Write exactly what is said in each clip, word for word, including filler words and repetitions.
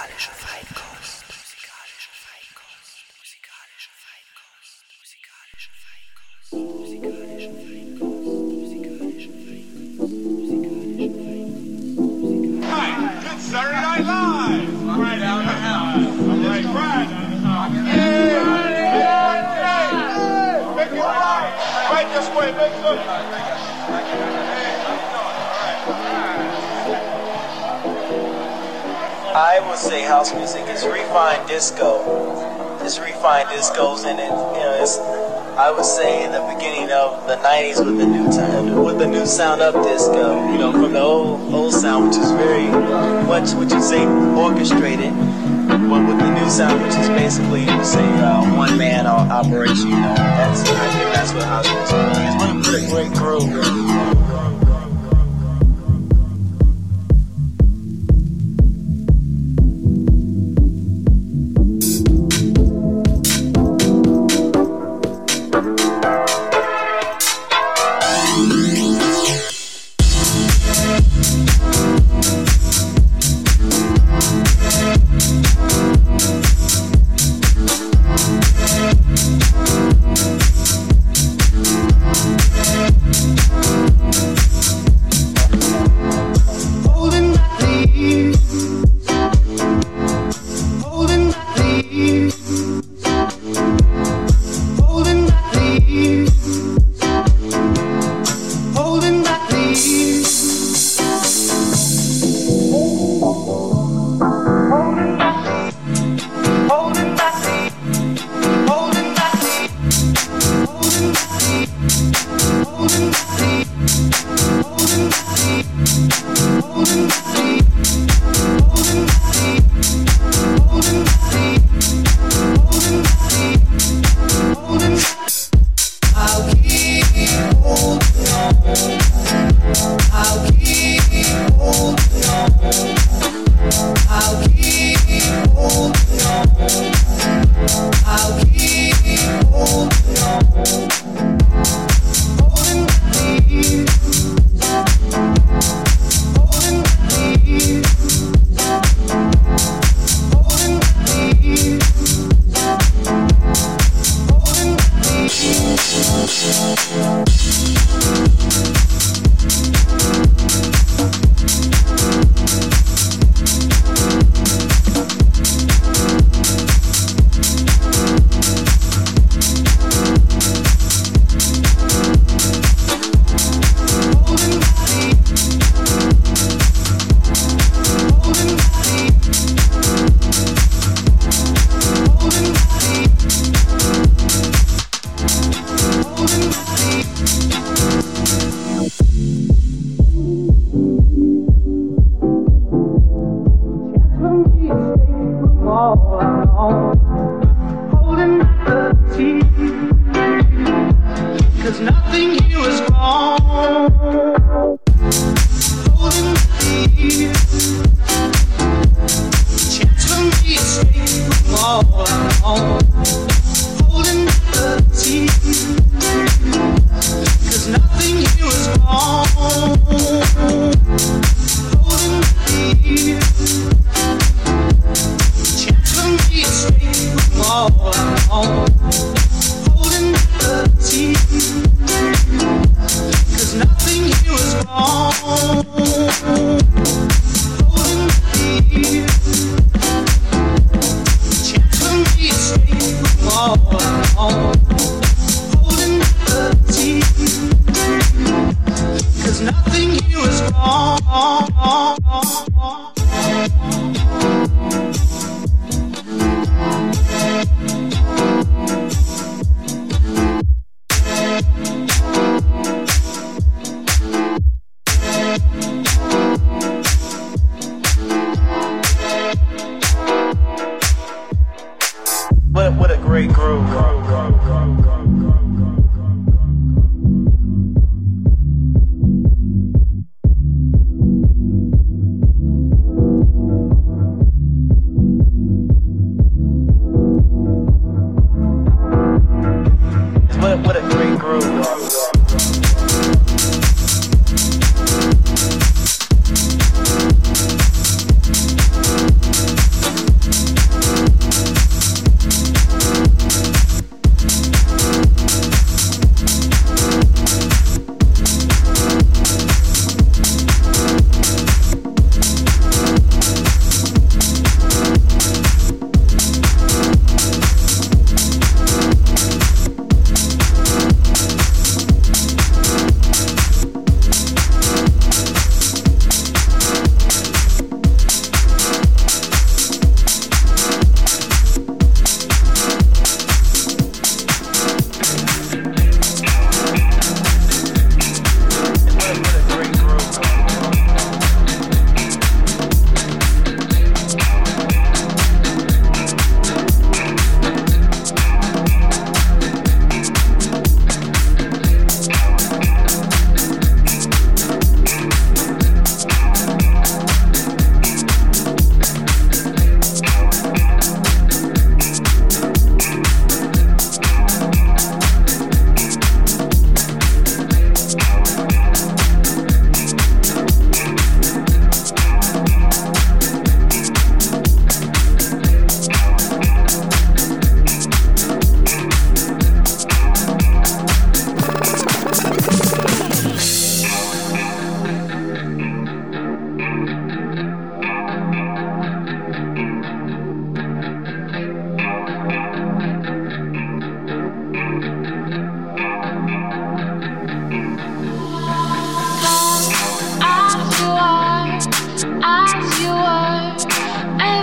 Musikalische Feinkost. Musikalische Feinkost. Musikalische Feinkost. Musikalische Feinkost. Musikalische Feinkost. Musikalische Feinkost. Musikalische Feinkost. Hi, it's Saturday Night Live. Right out of the house. I'm like, right. Hey, hey, hey, make it right. Right this way, make it look. I would say house music is refined disco. It's refined discos in it. You know, it's I would say in the beginning of the nineties with the new time, with the new sound of disco. You know, from the old old sound, which is very much what you say orchestrated, but with the new sound, which is basically you would say uh, one man operation. You know, that's I think that's what house music is. What a great groove.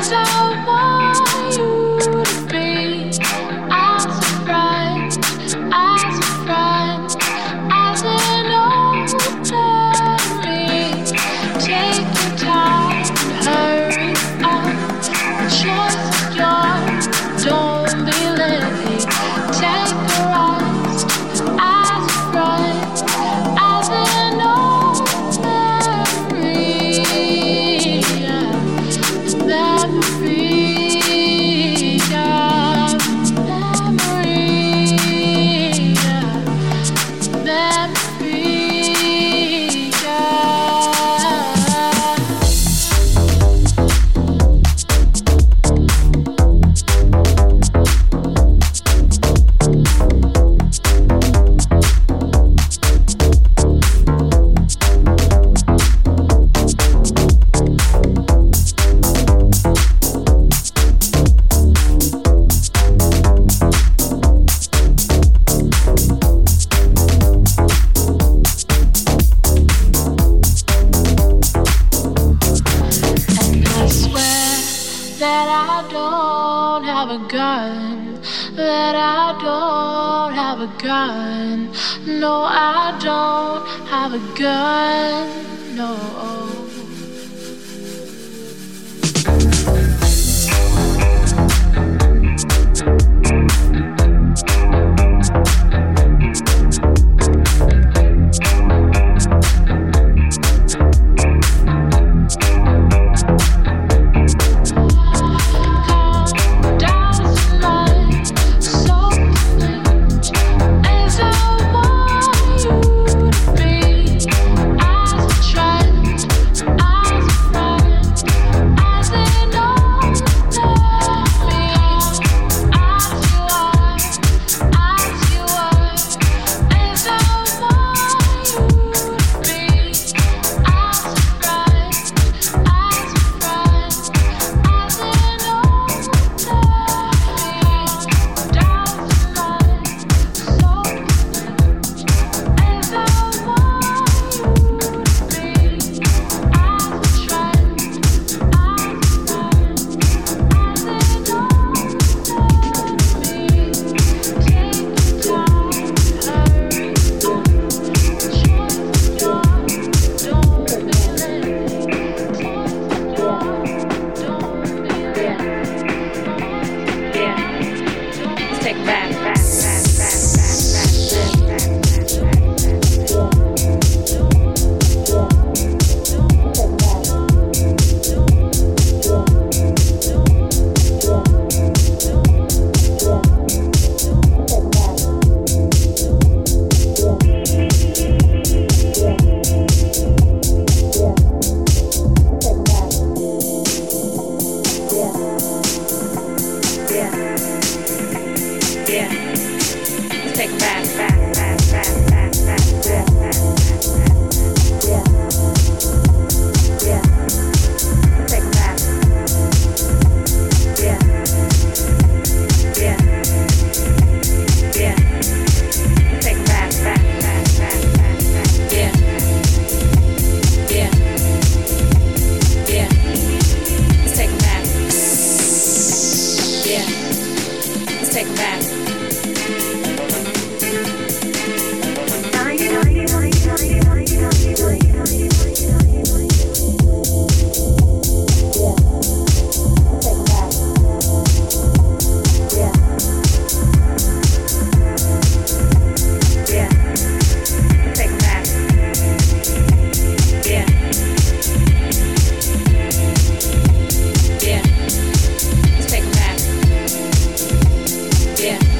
Yeah.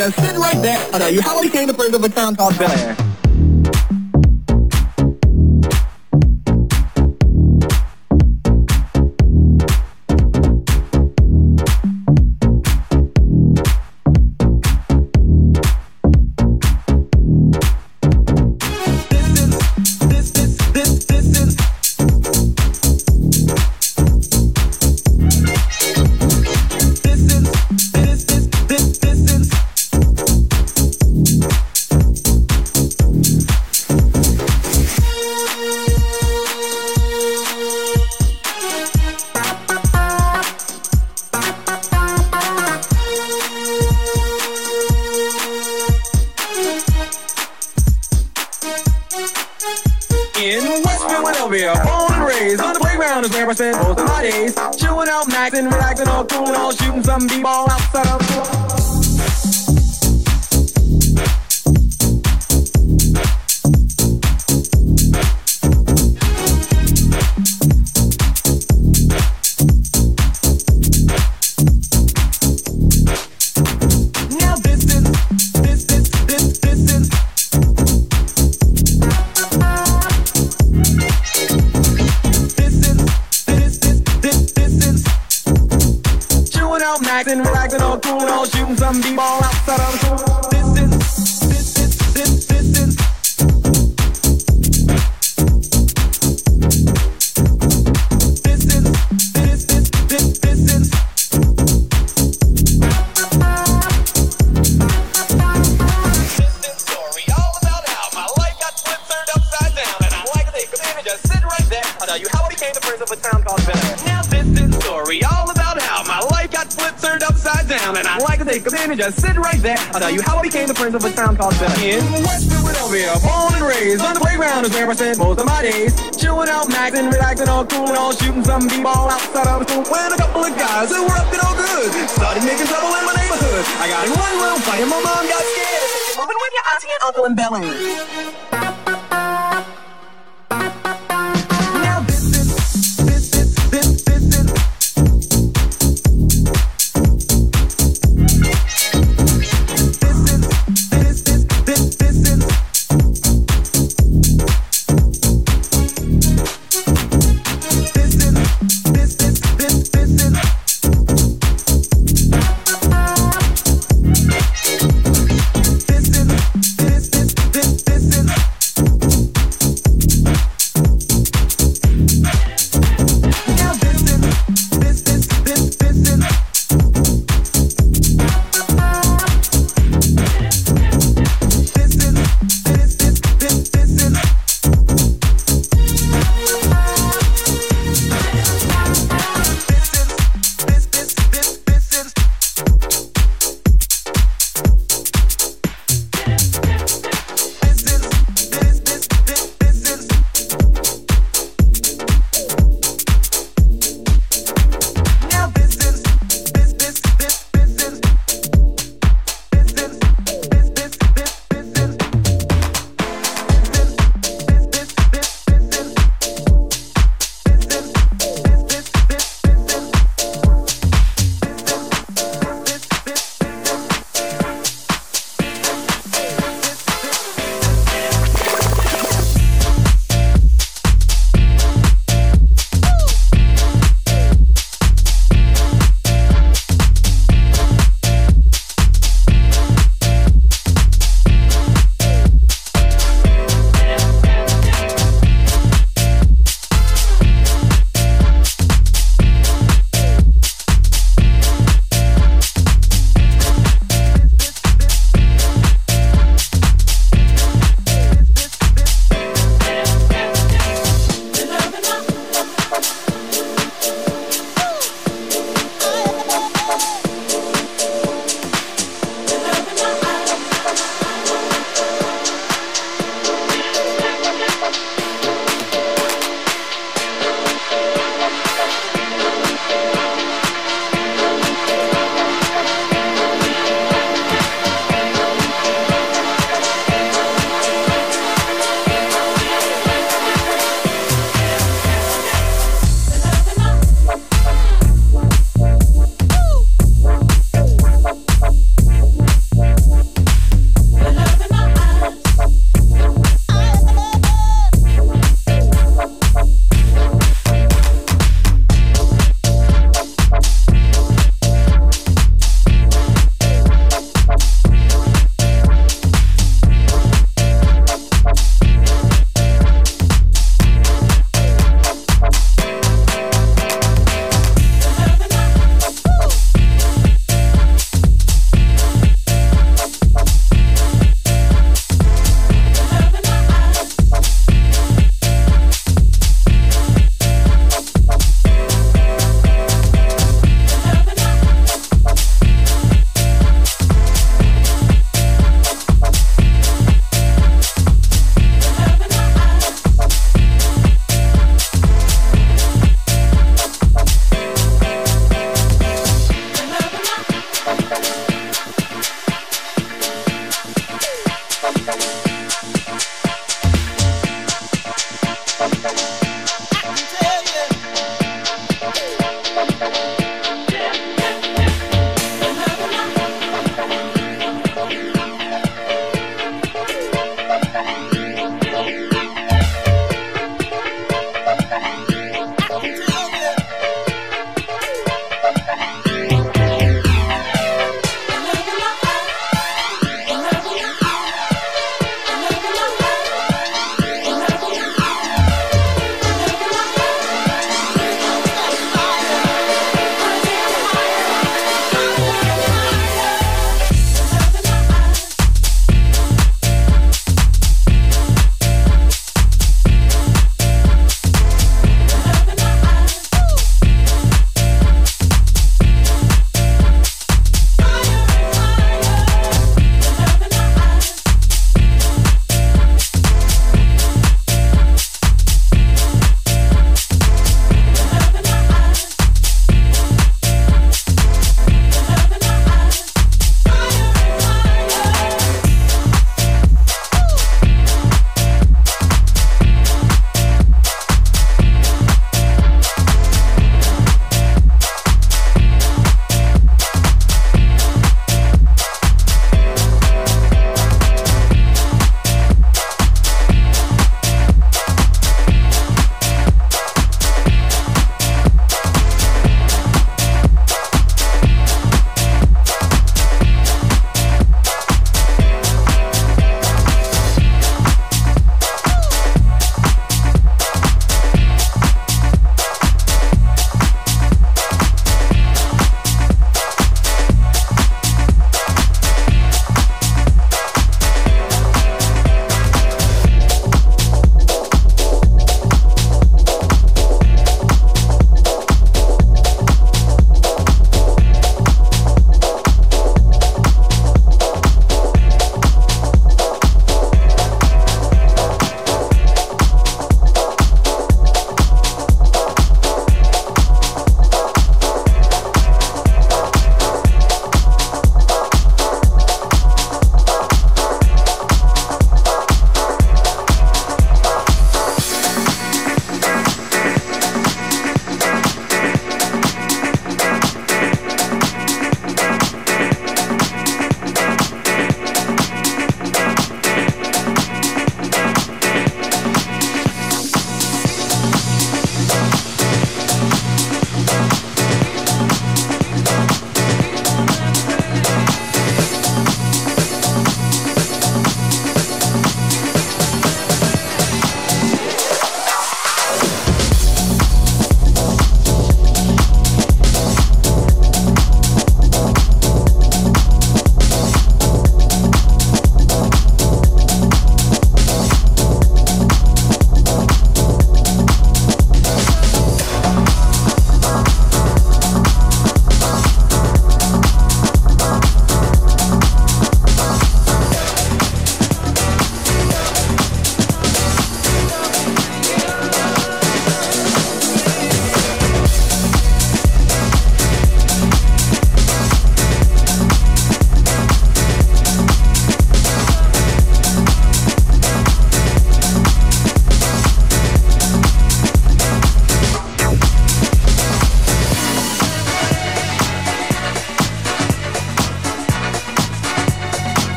just sit right there. I'll tell you how I became the prince of a town called Bel Air. I spent most of my days chewing out max and relaxing, all cool and all shooting some b-ball outside of the and relaxing, all cool and all shooting some b-ball outside of the pool. This is, this is, this, this is. This is, this, this, this, this is. This is story all about how my life got flipped, turned upside down, and I like to take a minute, just sit right there. I'll tell you how I became the prince of a town called Bel Air. Now this is story all about how my life got flipped, turned upside down, and I like to take a minute, just sit right there. I'll tell you how I became the prince of a town called Bel Air. In West Philadelphia, born and raised on the playground is where I spent most of my days chewing out max and relaxing, all cool and all shooting some b-ball outside of the school. When a couple of guys who were up to no good started making trouble in my neighborhood. I got in one little fight and my mom got scared. Moving with your auntie and uncle in Bel Air.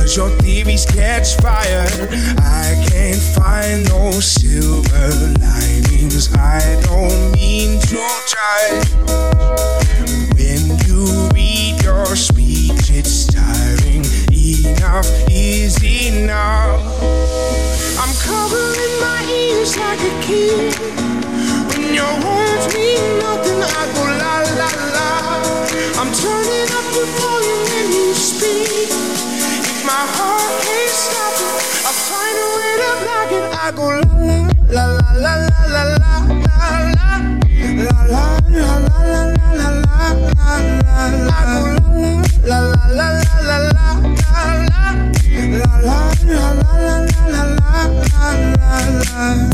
Cause your theories catch fire. I can't find no silver linings. I don't mean to try. When you read your speech, it's tiring. Enough is enough. I'm covering my ears like a kid. When your words mean nothing, I go la la la. I'm turning up the volume when you speak. If my heart can't stop it, I find a way to block it. I go la la la la la la la la la la la la la la la la la. I go la la la la la la la la la la la la la la la.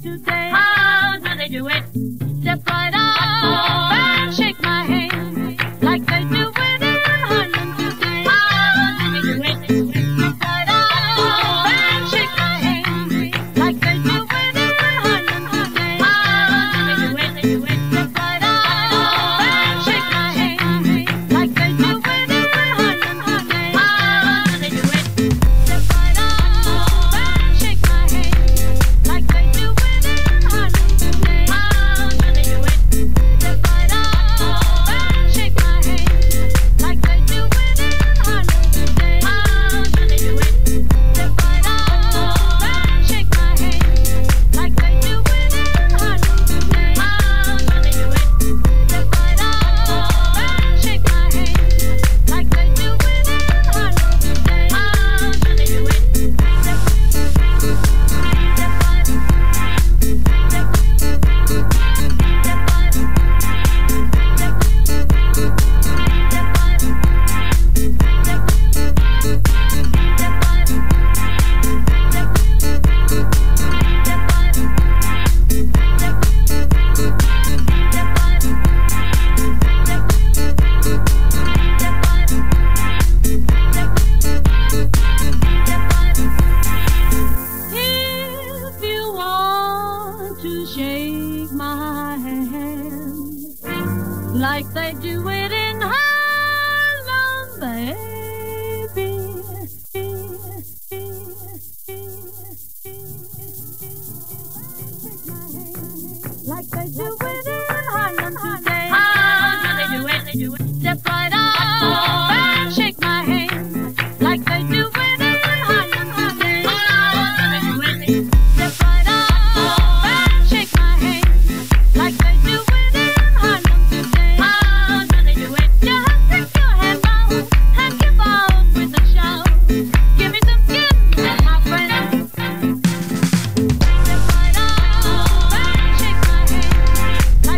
today. How do they do it? Step right up and shake my hand like they do it in Harlem today. How do they do it? Step right up and shake my hand like they do it in Harlem today. How do they do it? Step right up and shake my hand like they do it in Harlem today. How do they do it? Step right up and shake my hand like they do it in Harlem today. How do they do it? Step right up and shake my hand like they do it in Harlem today. How do they do it? Step right up and shake my hand like they do it in Harlem today. How do they do it? Step right up and shake my hand like they do it in Harlem today. How do they do it? If you want to shake my hand like they do it in Harlem, baby. Like they do it in Harlem today. How do they do it? They do it. Step right up and shake my hand like they do it in Harlem today. How do they do it? Step right up and shake my hand like they do it in Harlem today. How do they do it? Just stick your head round and give out with a shout. Give me some skin, my friend. Step right up and shake my hand like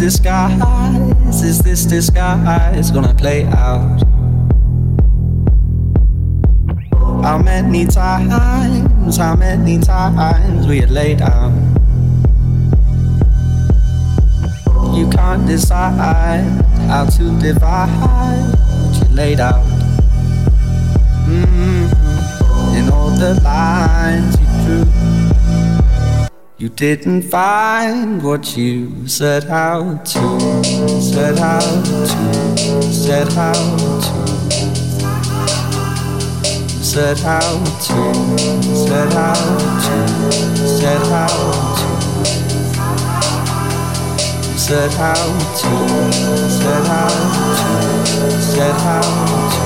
disguise? Is this disguise gonna play out? How many times, how many times we had laid out? You can't decide how to divide what you laid out. Mm-hmm. In all the lines you drew, you didn't find what you set out to, set out to, set out to, set out to, set out to, set out to, set out to, set out to, set out to,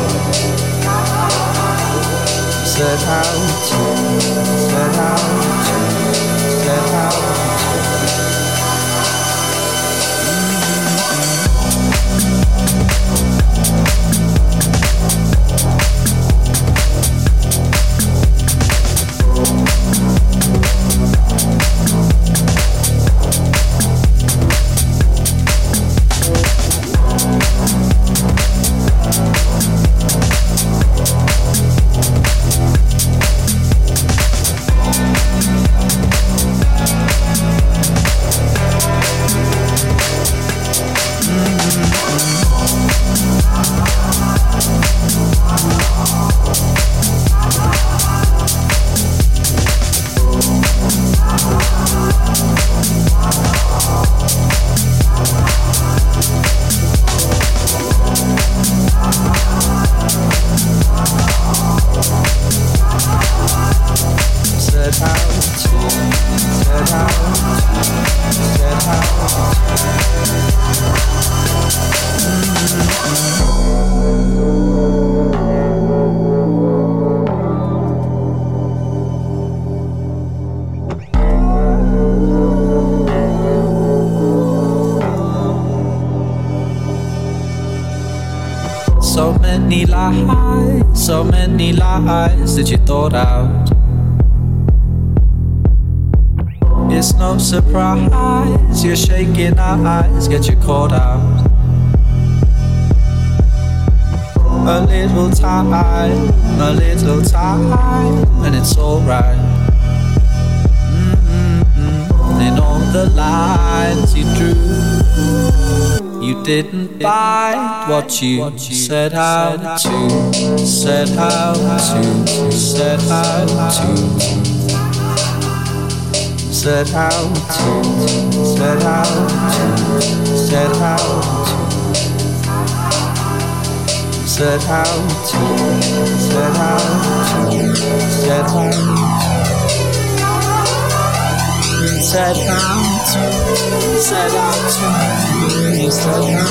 set out to, set out to. Set out. So many lies, so many lies that you thought out. It's no surprise your shaking eyes get you caught out. A little time, a little time, and it's alright. Mm-hmm. In all the lines you drew, you didn't find what you set out to, set out to, set out to, set out to, set out to, set out to, set out to, set out to, set out to. Set out to, set out to, set out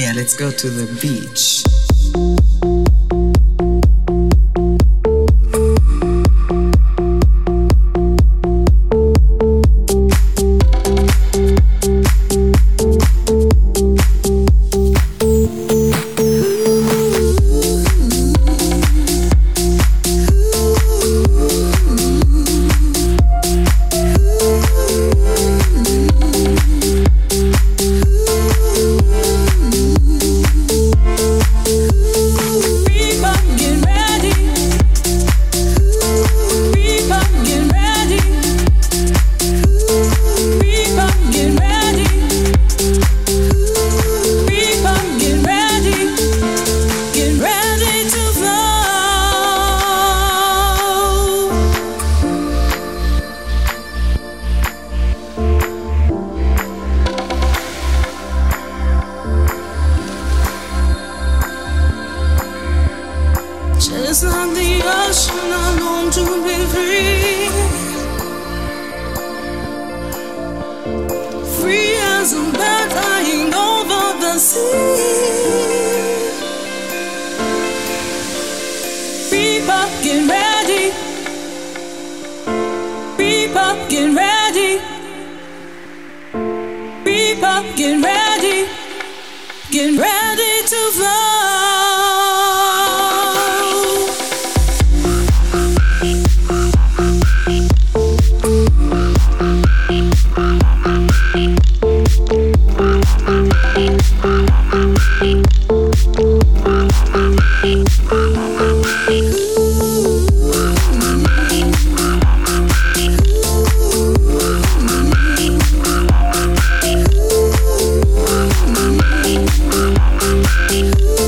Yeah, let's go to the beach. Just like the ocean, I long to be free. Free as a bird flying over the sea. People get ready. People get ready. People get ready. Get ready to fly. Ooh.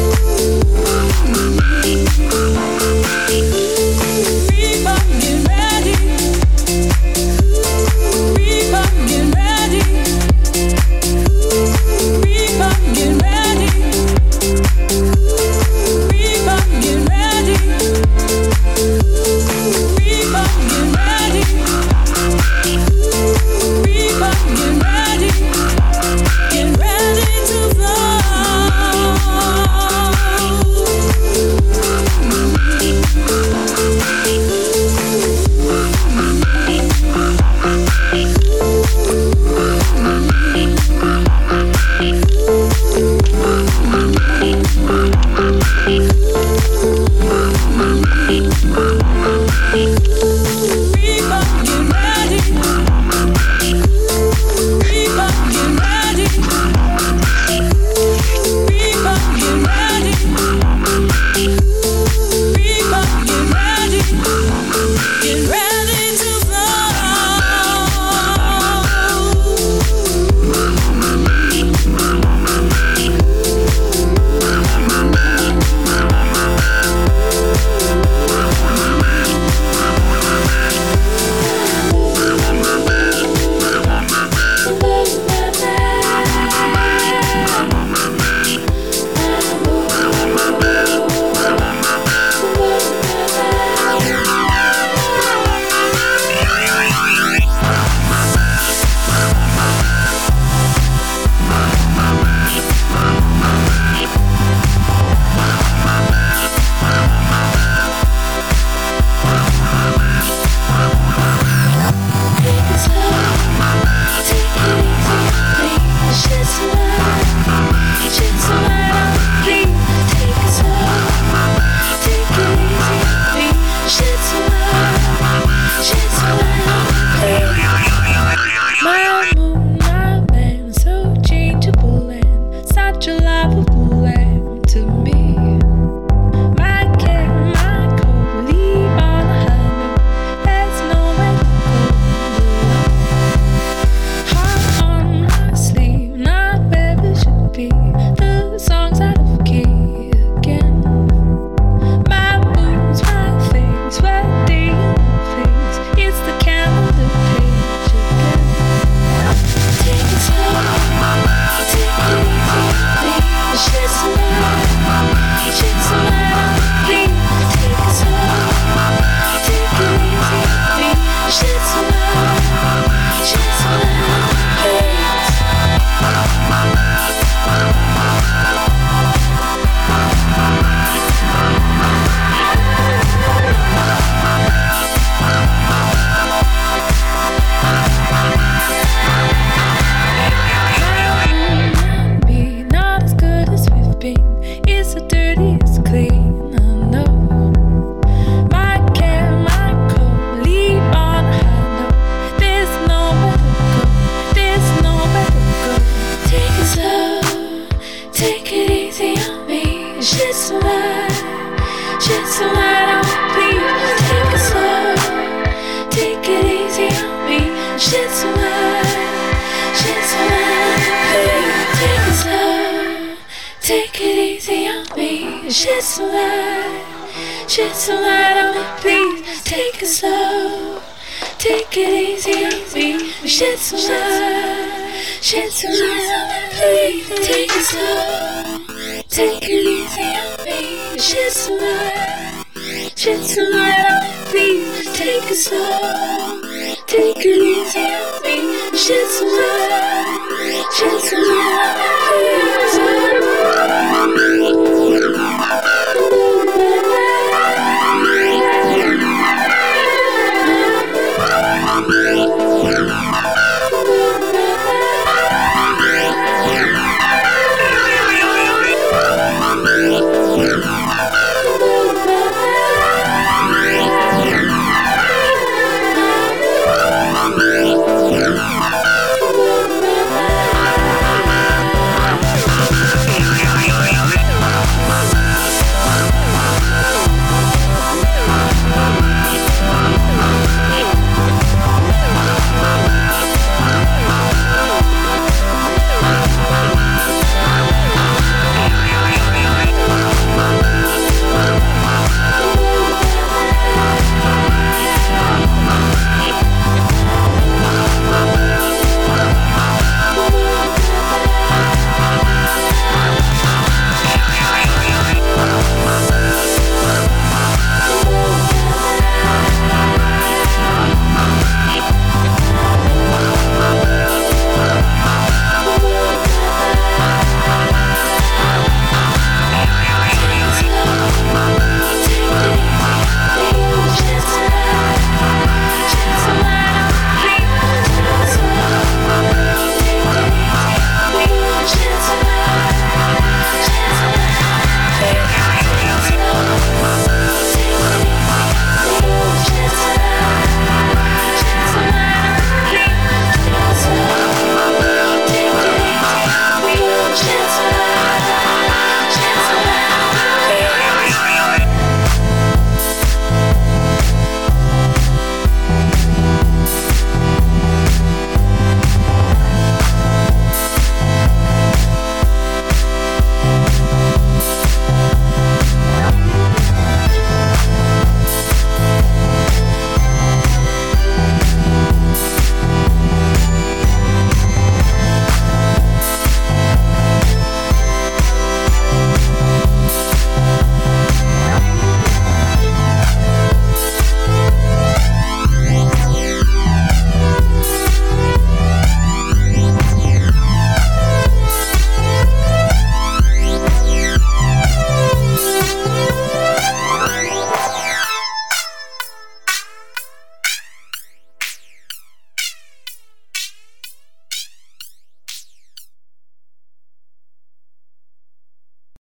Shed some light, shed some light on me, please. Take it slow, take it easy on me. Shed some light, shed some light on me, please. Take it slow, take it easy on me. Shed some light, shed some light on me, please. Take it slow, take it easy on me. Shed some light, shed some light on me, please.